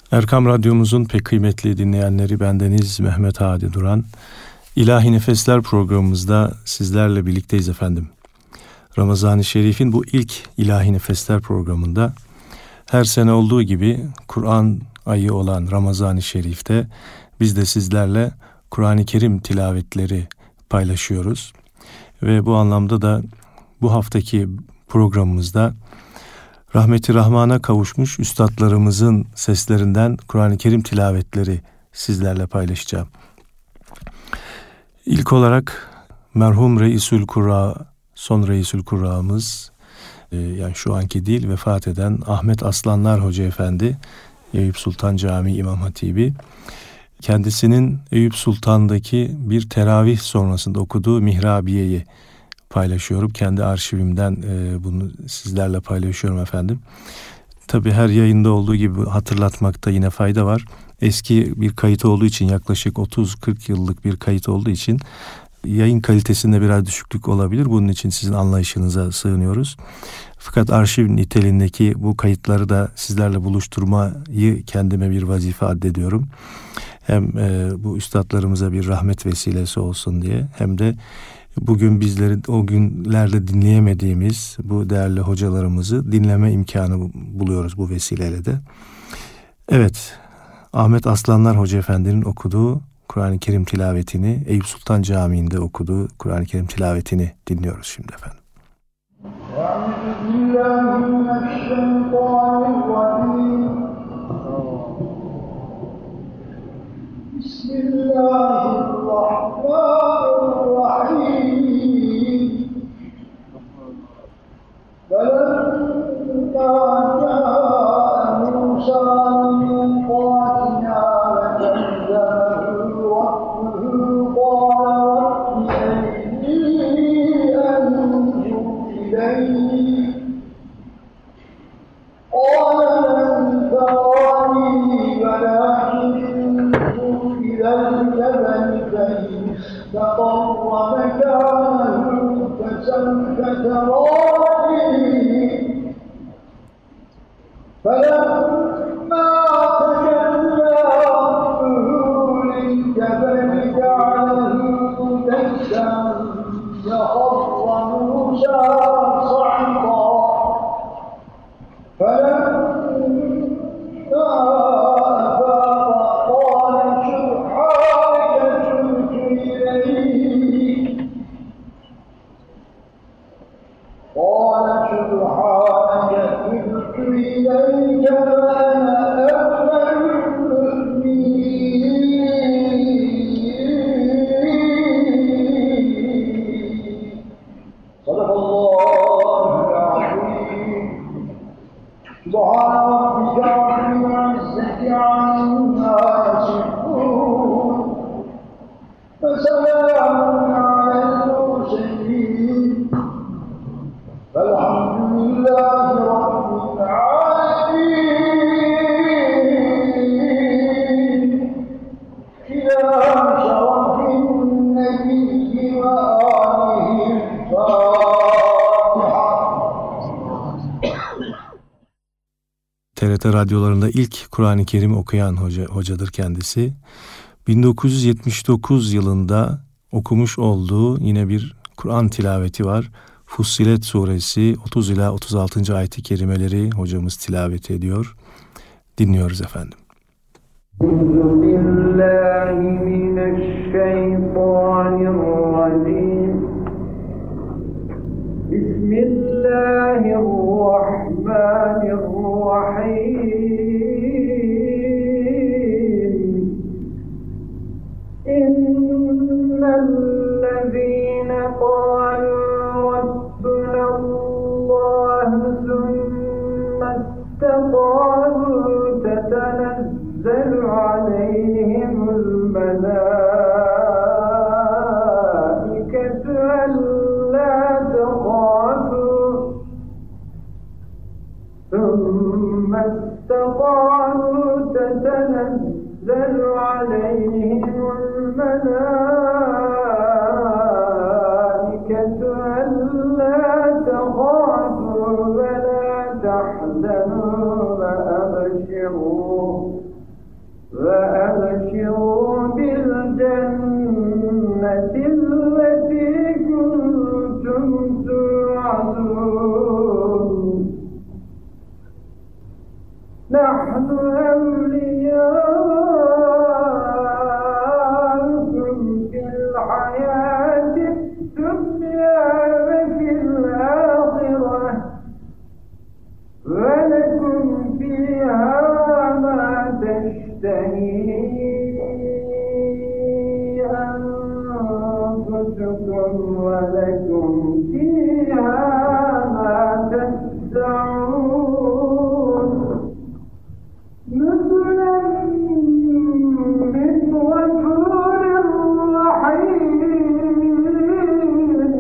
Erkam Radyomuzun pek kıymetli dinleyenleri, bendeniz Mehmet Hadi Duran. İlahi Nefesler programımızda sizlerle birlikteyiz efendim. Ramazan-ı Şerif'in bu ilk İlahi Nefesler programında her sene olduğu gibi Kur'an ayı olan Ramazan-ı Şerif'te biz de sizlerle Kur'an-ı Kerim tilavetleri paylaşıyoruz. Ve bu anlamda da bu haftaki programımızda rahmeti rahmana kavuşmuş üstadlarımızın seslerinden Kur'an-ı Kerim tilavetleri sizlerle paylaşacağım. İlk olarak merhum Reisül Kurra, son Reisül Kurra'mız, yani şu anki değil, vefat eden Ahmet Aslanlar Hoca Efendi, Eyüp Sultan Camii İmam Hatibi, kendisinin Eyüp Sultan'daki bir teravih sonrasında okuduğu Mihrabiye'yi paylaşıyorum. Kendi arşivimden bunu sizlerle paylaşıyorum efendim. Tabii her yayında olduğu gibi hatırlatmakta yine fayda var. Eski bir kayıt olduğu için, yaklaşık 30-40 yıllık bir kayıt olduğu için yayın kalitesinde biraz düşüklük olabilir. Bunun için sizin anlayışınıza sığınıyoruz. Fakat arşiv niteliğindeki bu kayıtları da sizlerle buluşturmayı kendime bir vazife addediyorum. Hem bu üstadlarımıza bir rahmet vesilesi olsun diye, hem de bugün bizleri o günlerde dinleyemediğimiz bu değerli hocalarımızı dinleme imkanı buluyoruz bu vesileyle de. Evet, Ahmet Aslanlar Hoca Efendi'nin okuduğu Kur'an-ı Kerim tilavetini, Eyüp Sultan Camii'nde okuduğu Kur'an-ı Kerim tilavetini dinliyoruz şimdi efendim. Bismillahirrahmanirrahim. فَلَمَّا جَاءَ مُوسَى مِيقَاتِنَا وَكَلَّمَهُ رَبُّهُ قَالَ رَبِّ أَرِنِي أَنظُرْ إِلَيْكَ قَالَ لَنْ تَرَانِي وَلَكِنْ انظُرْ إِلَى الْجَبَلِ فَإِنِ اسْتَقَرَّ مَكَانَهُ فَسَوْفَ تَرَانِي فَلَمَّا تَجَلَّىٰ رَبُّهُ لِلْجَبَلِ جَعَلَهُ دَكًّا وَخَرَّ مُوسَىٰ صَعِقًا فَلَمَّا أَفَاقَ قَالَ سُبْحَانَكَ تُبْتُ إِلَيْكَ وَأَنَا أَوَّلُ الْمُؤْمِنِينَ. صدق الله العظيم. سبحان ربك رب العزة عما يصفون وسلام على المرسلين والحمد لله رب العالمين. إلى شرف النبي وآله الفاتحة. TRT radyolarında ilk Kur'an-ı Kerim okuyan hocadır kendisi. 1979 yılında okumuş olduğu yine bir Kur'an tilaveti var. Fussilet suresi 30 ila 36. ayet-i kerimeleri hocamız tilavet ediyor. Dinliyoruz efendim. Bismillahirrahmanirrahim. İnnellezîne qâlû ربنا الله ثم استقاموا تتنزل عليهم الملائكة ألا تخافوا ثم استقاموا تتنزل عليهم الملائكة ألا تخافوا ولا تحزنوا وأبشروا وأبشروا بالجنة التي كنتم توعدون نحن أولياؤكم في الحياة الدنيا وفي الآخرة ولكم فيها ما تشتهي أنفسكم ولكم فيها ما تدعون نزلا من غفور رحيم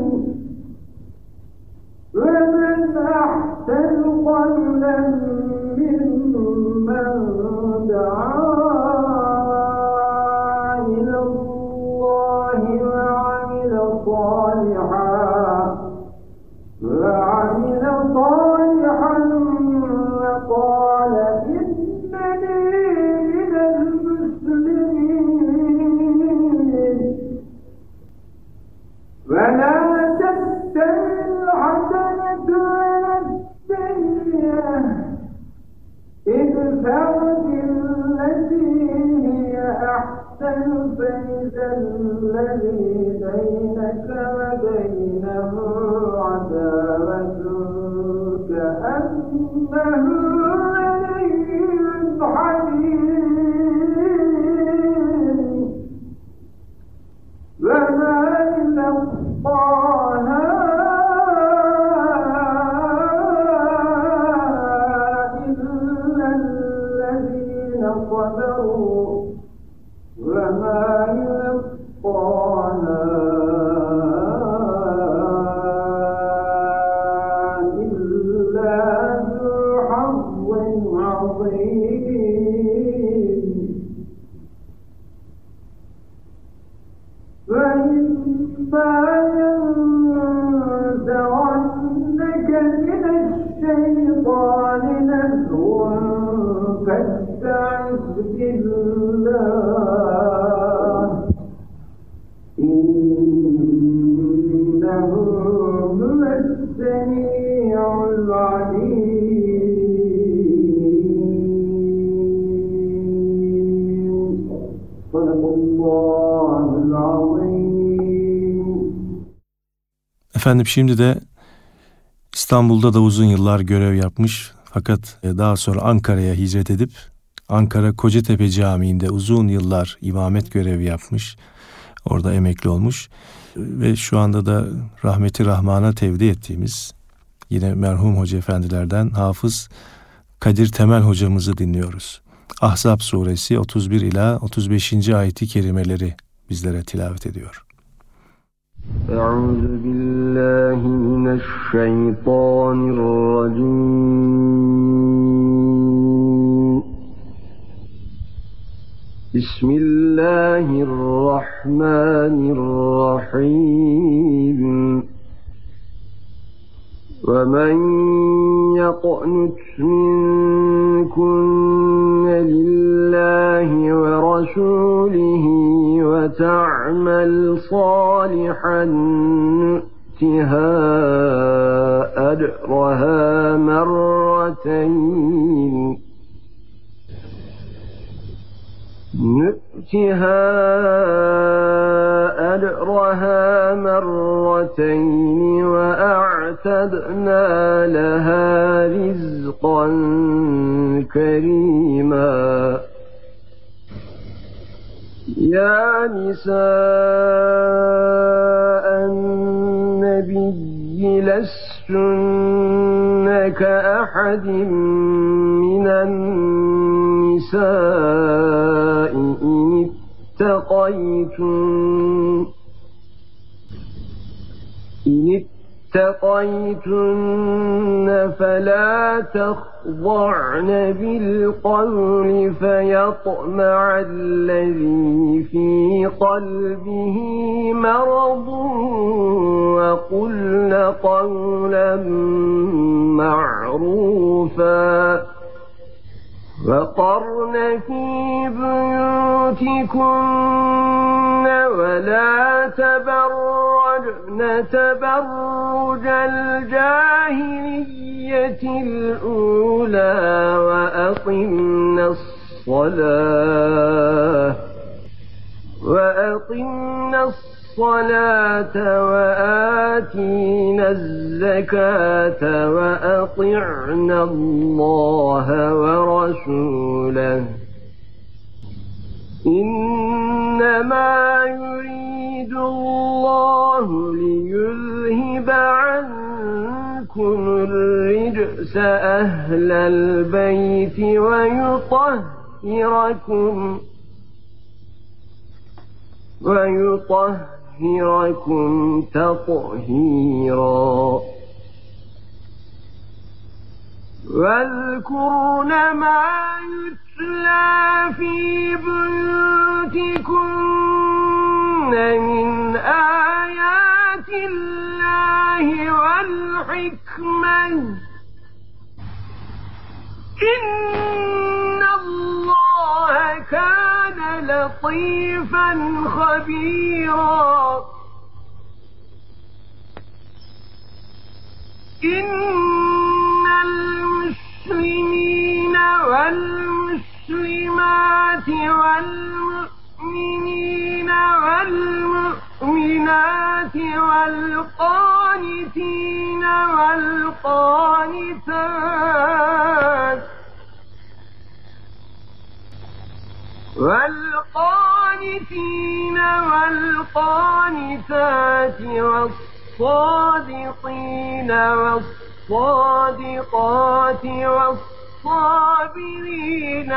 ومن أحسن قولا ممن دعا إلى الله وعمل صالحا وقال إنني من المسلمين ولا تستوي الحسنة ولا السيئة ادفع بالتي هي أحسن فإذا الذي بينك وبينه عداوة كأنه ولي حميم وما يلقاها إلا الذين صبروا وما يلقاها إلا ذو حظ عظيم وإما ينزغنك من الشيطان نزغ فاستعذ بالله إنه هو السميع العليم صدق الله العظيم. Efendim şimdi de İstanbul'da da uzun yıllar görev yapmış fakat daha sonra Ankara'ya hicret edip Ankara Kocatepe Camii'nde uzun yıllar imamet görevi yapmış. Orada emekli olmuş ve şu anda da rahmeti rahmana tevdi ettiğimiz yine merhum hoca efendilerden Hafız Kadir Temel hocamızı dinliyoruz. Ahzab suresi 31 ila 35. ayeti kerimeleri bizlere tilavet ediyor. Euzu billahi mineşşeytanirracim. Bismillahirrahmanirrahim. وَمَنْ يَقْنُتْ مِنْكُنَّ لِلَّهِ وَرَسُولِهِ وَتَعْمَلْ صَالِحًا نُؤْتِهَا أَجْرَهَا مرتين وأعتدنا لها رزقا كريما. يا نساء النبي لستن كأحد من النساء إن اتقيتن فلا تخضعن بالقول فيطمع الذي في قلبه مرض وقلن قولا معروفا. وقرن في بيوتكن ولا تبرجن تبرج الجاهلية الأولى وأقمنا الصلاة وآتينا الزكاة وأطعنا الله ورسوله إنما يريد الله ليذهب عنكم الرجس أهل البيت ويطهركم تطهيرا واذكرن ما يتلى في بيوتكن من آيات الله والحكمة إن الله كان لطيفا خبيرا إن المسلمين والمسلمات والمؤمنين والمؤمنات والقانتين والقانتات والصادقين والصادقات والصابرين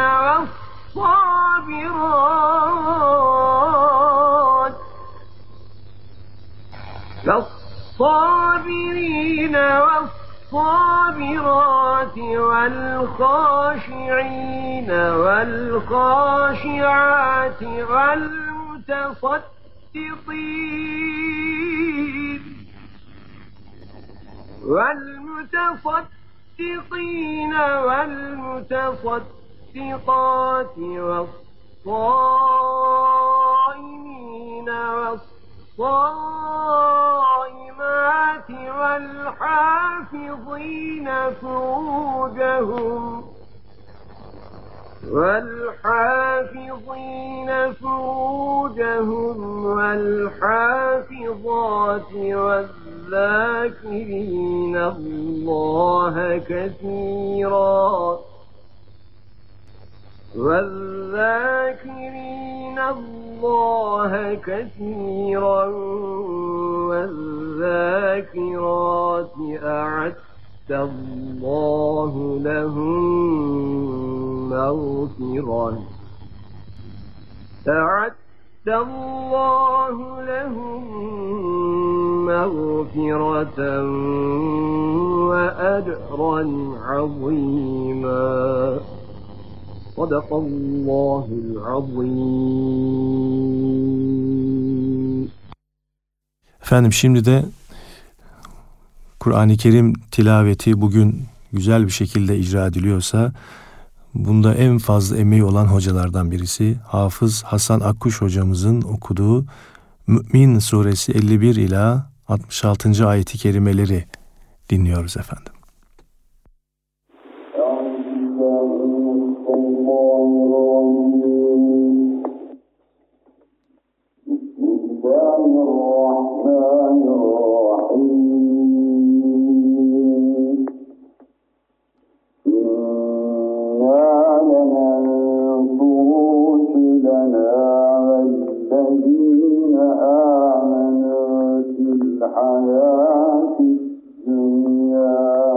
والصابرات والخاشعين والخاشعات والمتصدقين والمتصدقات والصائمين والصائمات والحافظين فروجهم والحافظات والذاكرين الله كثيرا والذاكرات أعد الله لهم مغفرة وأجرا عظيما صدق الله العظيم. Efendim şimdi de Kur'an-ı Kerim tilaveti bugün güzel bir şekilde icra ediliyorsa bunda en fazla emeği olan hocalardan birisi Hafız Hasan Akkuş hocamızın okuduğu Mü'min suresi 51 ila 66. ayeti kerimeleri dinliyoruz efendim. الحياة الدنيا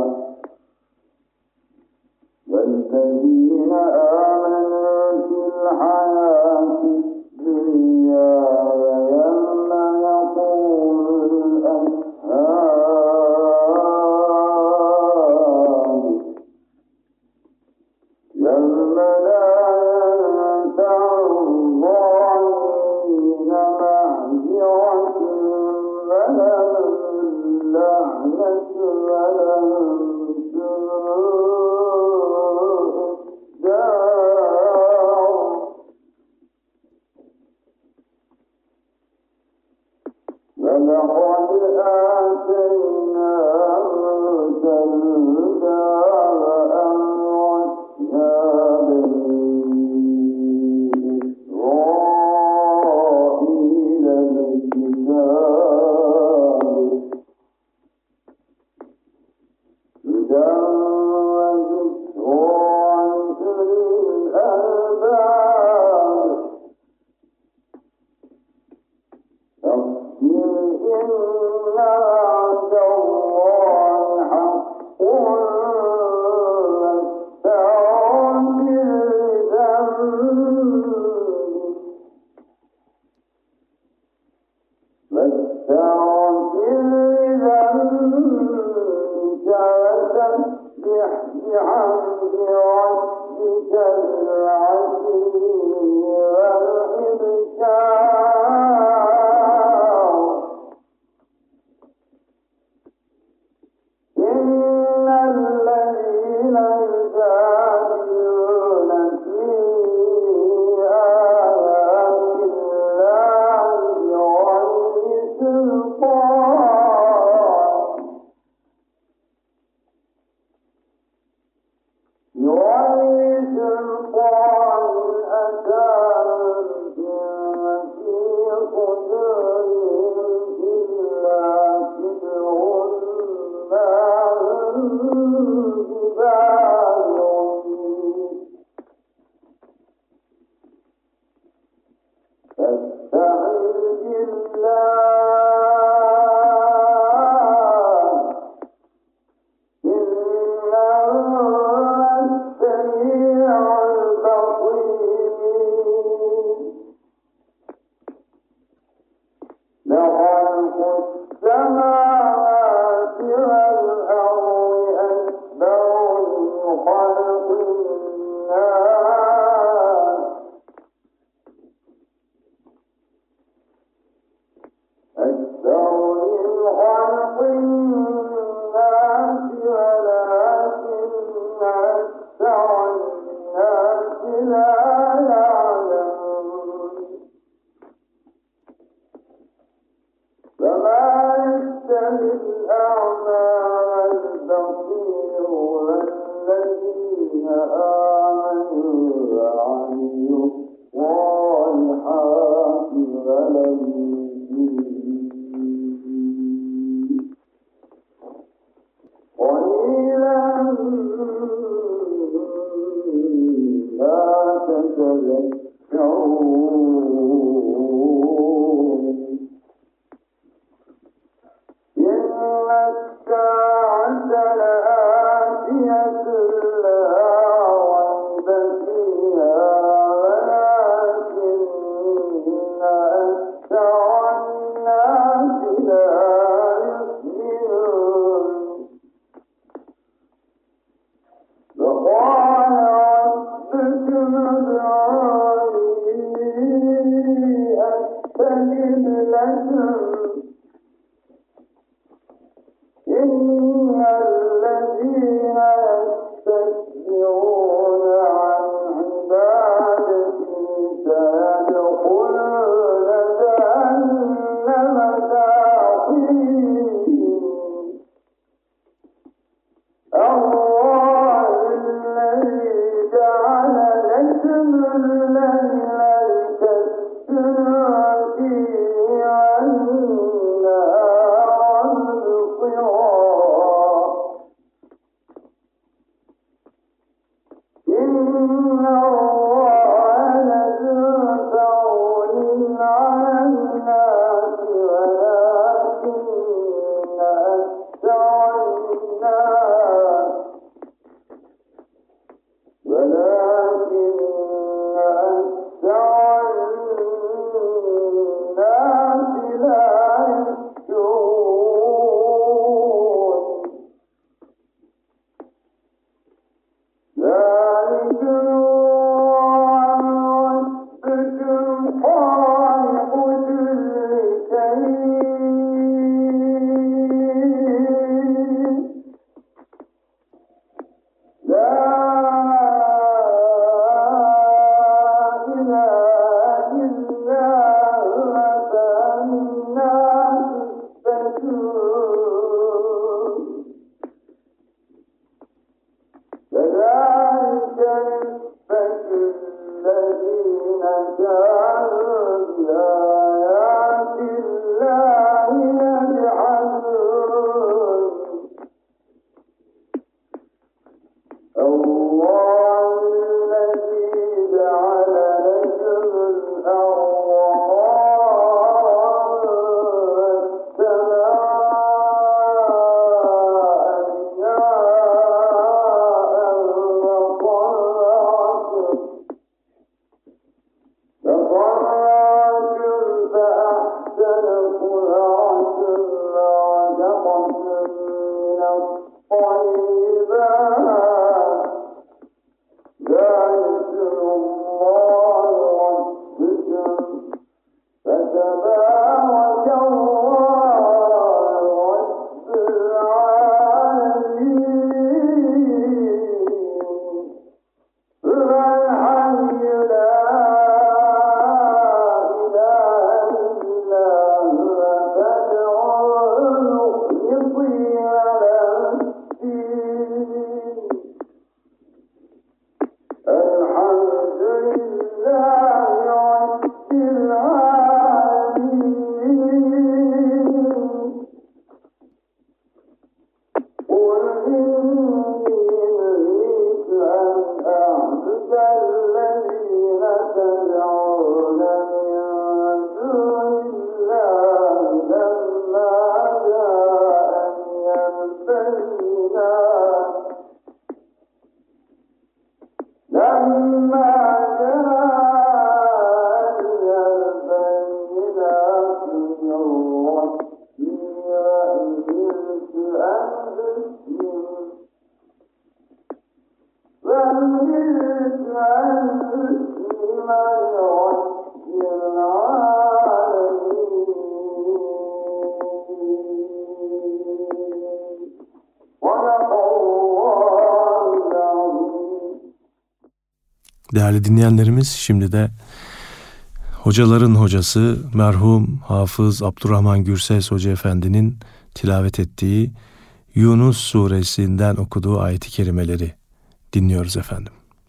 Değerli dinleyenlerimiz, şimdi de hocaların hocası merhum Hafız Abdurrahman Gürses Hoca Efendi'nin tilavet ettiği Yunus suresinden okuduğu ayet-i kerimeleri dinliyoruz efendim.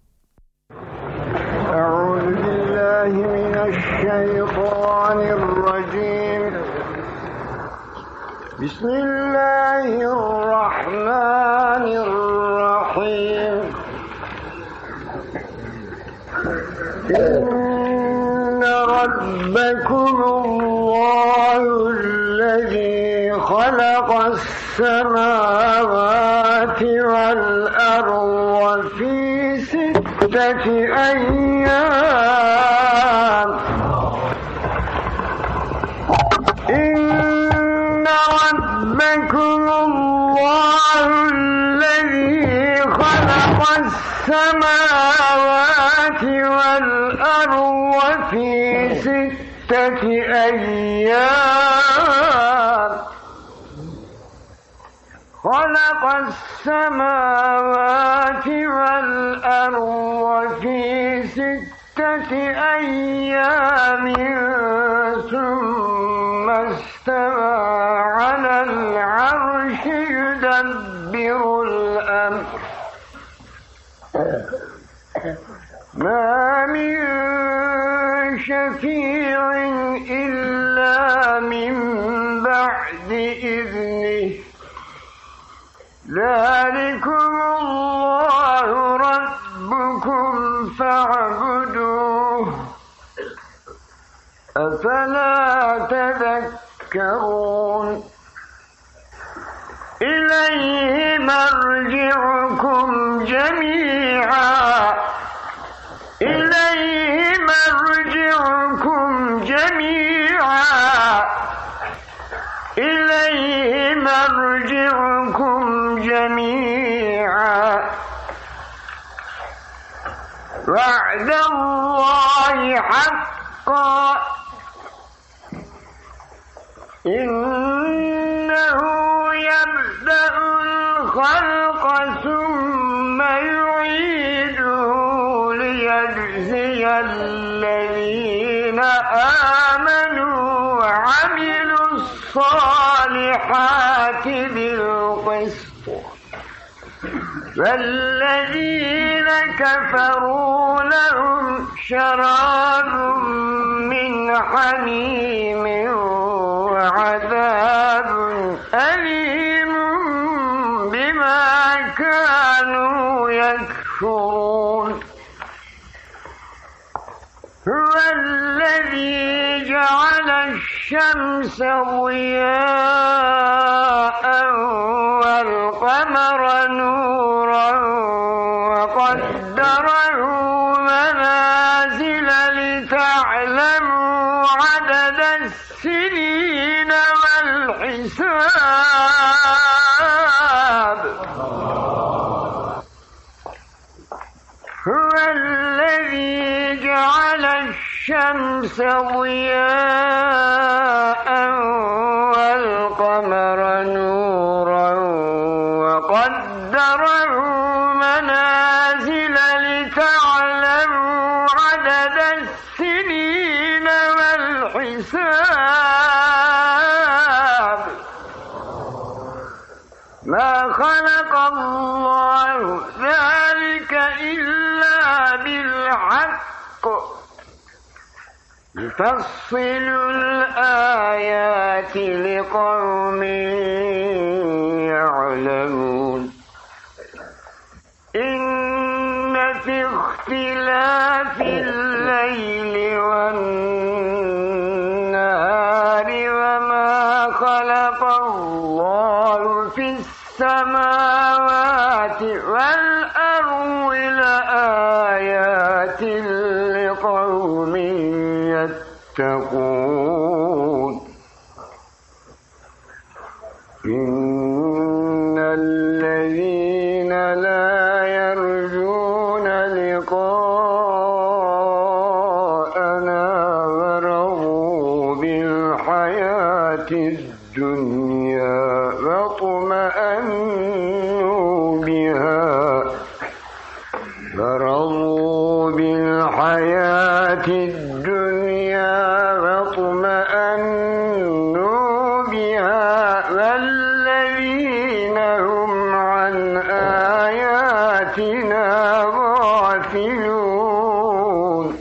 Euzubillahimineşşeytanirracim. Bismillahirrahmanirrahim. İnne rabbekumullâhu'llezî halaqas-semâvâti vel-arda fî sitteti eyyâm. İnne rabbekumullâhu'llezî halaqas-semâvâti vel-arda fî sitteti eyyâm. خلق السماوات والأرض في ستة أيام ثم استوى على العرش يدبر الأمر ما من شفيع إلا من بعد إذنه ذلكم الله ربكم فاعبدوه أفلا تذكرون إليه مرجعكم جميعا إليه مرجعكم جميعا إليه مرجعكم جميعا وعد الله حقا إنه يبدأ الخلق ثم يعيده ليجزي الذين آمنوا وعملوا الصالحات بالقسط والذين كفروا لهم شراب من حميم وعذاب أليم بما كانوا يكفرون هو الذي جعل الشمس ضياء والقمر نورا وقدره منازل لتعلموا عدد السنين والحساب هو الذي جعل الشمس ضياء والقمر نورا وقدره منازل لتعلموا عدد السنين والحساب ما خلق الله ذلك إلا بالحق يفصل الآيات لقوم يعلمون إن في اختلاف الليل والنهار وما خلق الله في السماوات والأرض لآيات لقوم يتقون إن الذين لا يرجون لقاءنا الحياة الدنيا واطمأنوا بها والذين هم عن آياتنا غافلون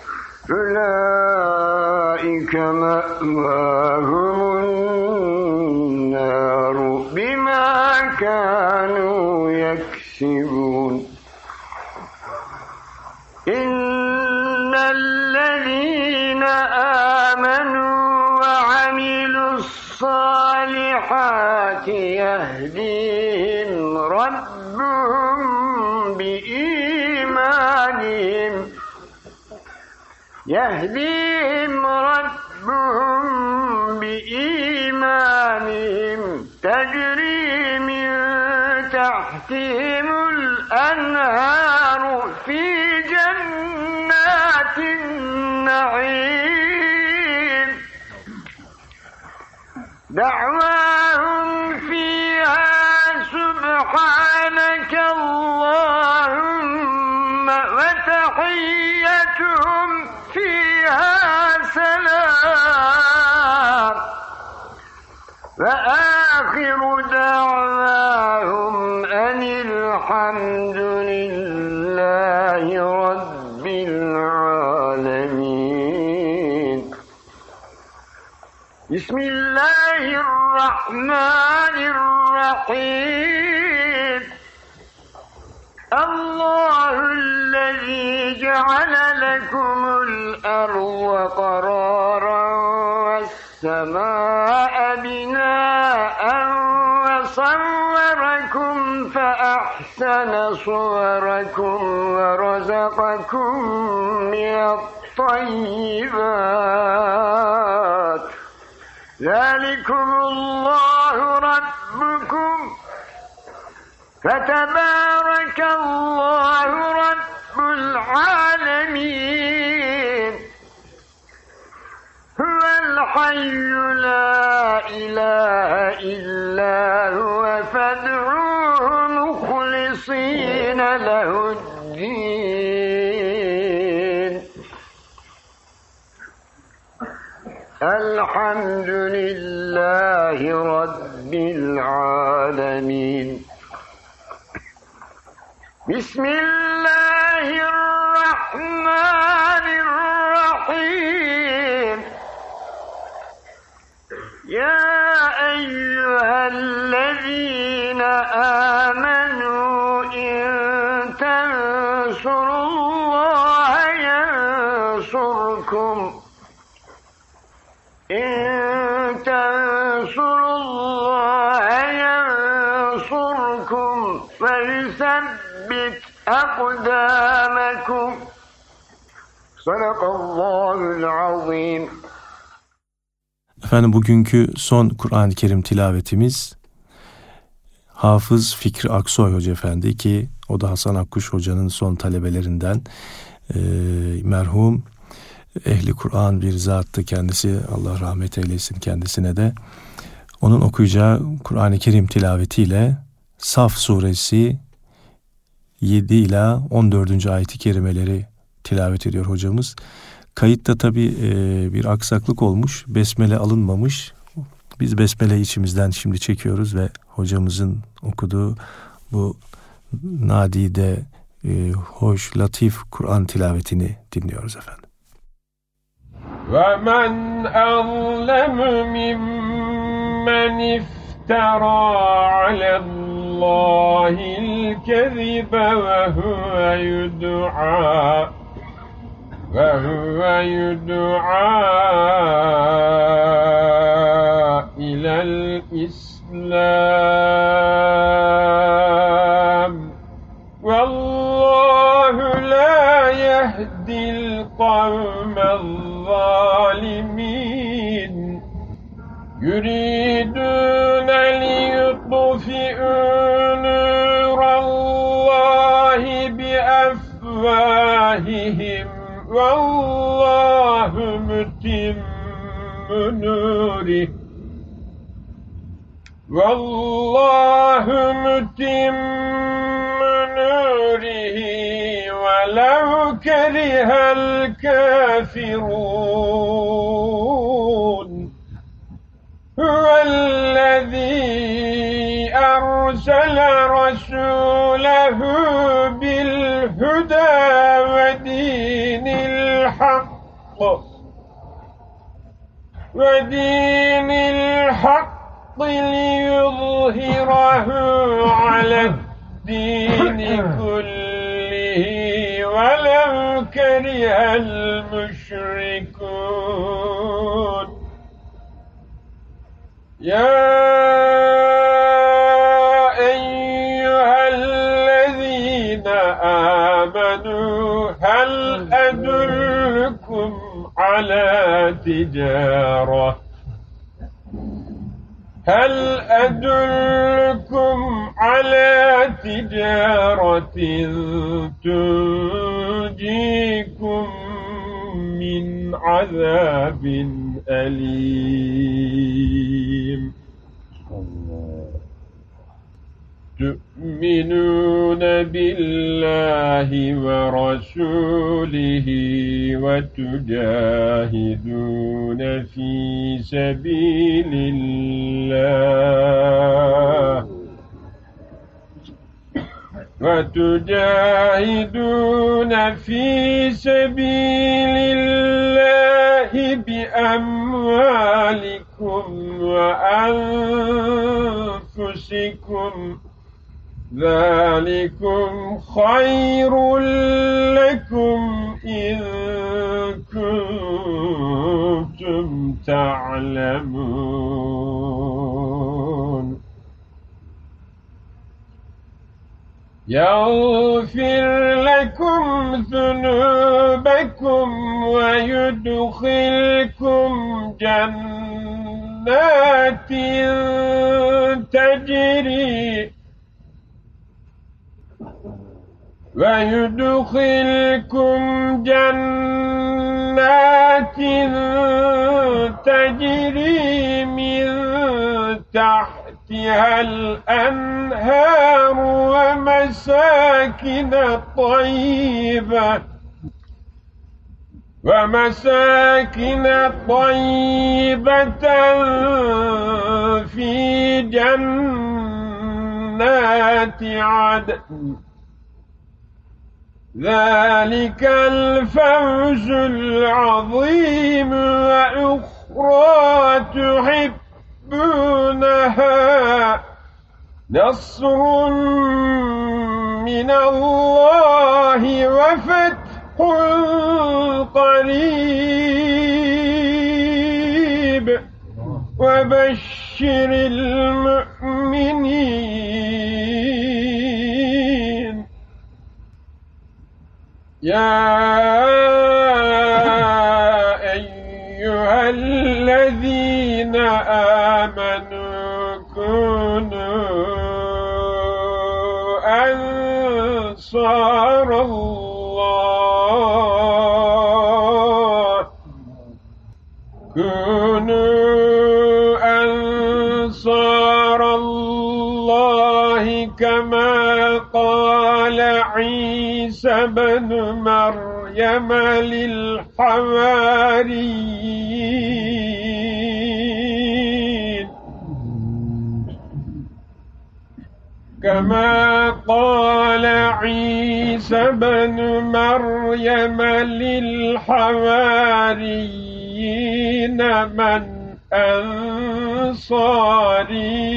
أولئك مأواهم النار بما كانوا يكسبون إن الذين آمنوا وعملوا الصالحات يهديهم ربهم بإيمانهم تجري من تحتهم الأنهار في جنات النعيم دعواهم فيها سبحانك اللهم وتحيتهم فيها سلام وآخر دعواهم أن الحمد لله رب العالمين بسم الله الرحمن الرحيم الله الذي جعل لكم الأرض قرارا والسماء بناء وصوركم فأحسن صوركم ورزقكم من الطيبات ذلكم الله ربكم فتبارك الله رب العالمين هو الحي لا إله إلا هو فادعوه مخلصين له الدين الحمد لله رب العالمين بسم الله الرحمن الرحيم يا أيها الذين آمنوا إن تنصروا الله ينصركم إن تنصروا الله ينصركم ويثبت أقدامكم صدق الله العظيم. Efendim bugünkü son Kur'an-ı Kerim tilavetimiz Hafız Fikri Aksoy Hoca Efendi ki o da Hasan Akkuş Hoca'nın son talebelerinden merhum ehli Kur'an bir zattı kendisi, Allah rahmet eylesin kendisine de. Onun okuyacağı Kur'an-ı Kerim tilavetiyle Saf suresi 7 ila 14. ayet-i kerimeleri tilavet ediyor hocamız. Kayıtta tabi bir aksaklık olmuş, besmele alınmamış. Biz besmele içimizden şimdi çekiyoruz ve hocamızın okuduğu bu nadide, hoş, latif Kur'an tilavetini dinliyoruz efendim. وَمَنْ أَظْلَمُ مِمَّنِ افْتَرَى عَلَى اللَّهِ الْكَذِبَ وَهُوَ يُدْعَى إِلَى الْإِسْلَامِ وَاللَّهُ لَا يَهْدِي الْقَوْمَ الظَّالِمِينَ يُرِيدُونَ لِيُطْفِئُوا نُورَ اللَّهِ بِأَفْوَاهِهِمْ وَاللَّهُ مُتِمُّ نُورِهِ وَلَوْ ولو كره الكافرون هو الذي أرسل رسوله بالهدى ودين الحق ليظهره على الدين كله ولو كره المشركون يا أيها الذين آمنوا هل أدلكم على تجارة تنجيكم من عذاب أليم تؤمنون بالله ورسوله وتجاهدون في سبيل الله بأموالكم وأنفسكم ذلكم خير لكم إن كنتم تعلمون يغفر لكم ذنوبكم ويدخلكم جنات تجري من تحتها الأنهار ومساكن طيبة في جنات عدن ذلك الفوز العظيم وأخرى تحبونها نصر من الله وفتح قريب وبشر المؤمنين يا أيها الذين آمنوا كونوا أنصار الله كما قال عيسى بن مريم للحواريين من أنصاري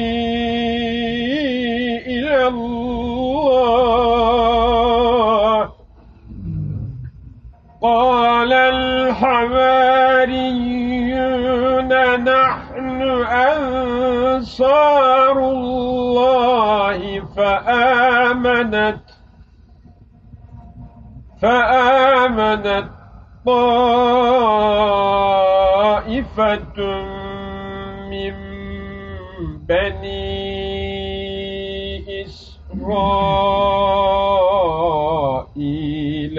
إلى الله قال الحواريون نحن أنصار الله فآمنت طائفة من بني إسرائيل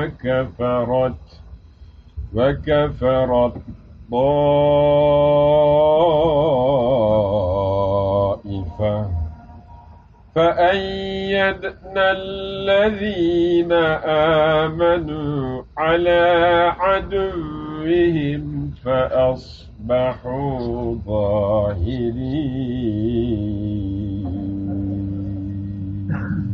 وكفرت طائفة فَأَيَّدْنَا الَّذ۪ينَ آمَنُوا عَلَى عَدُوِّهِمْ فَأَصْبَحُوا ظَاهِرِينَ.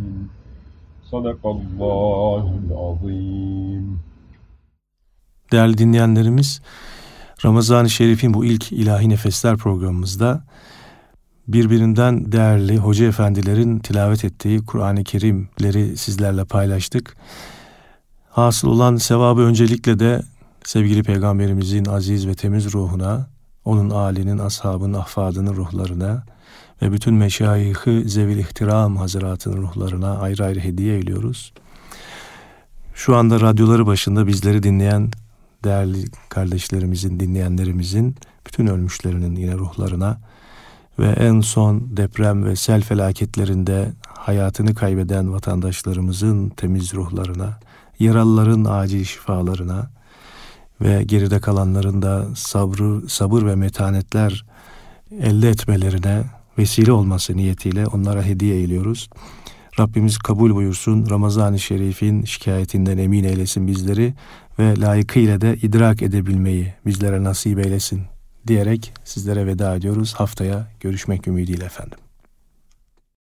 Sadakallahul azim. Değerli dinleyenlerimiz, Ramazan-ı Şerif'in bu ilk İlahi Nefesler programımızda birbirinden değerli hoca efendilerin tilavet ettiği Kur'an-ı Kerimleri sizlerle paylaştık. Hasıl olan sevabı öncelikle de sevgili Peygamberimizin aziz ve temiz ruhuna, onun âlinin, ashabının, ahfadının ruhlarına ve bütün meşayih-i zevil ihtiram hazıratının ruhlarına ayrı ayrı hediye ediyoruz. Şu anda radyoları başında bizleri dinleyen değerli kardeşlerimizin, dinleyenlerimizin, bütün ölmüşlerinin yine ruhlarına ve en son deprem ve sel felaketlerinde hayatını kaybeden vatandaşlarımızın temiz ruhlarına, yaralıların acil şifalarına ve geride kalanların da sabır ve metanetler elde etmelerine vesile olması niyetiyle onlara hediye eyliyoruz. Rabbimiz kabul buyursun, Ramazan-ı Şerif'in şikayetinden emin eylesin bizleri ve layıkıyla da idrak edebilmeyi bizlere nasip eylesin diyerek sizlere veda ediyoruz. Haftaya görüşmek ümidiyle efendim.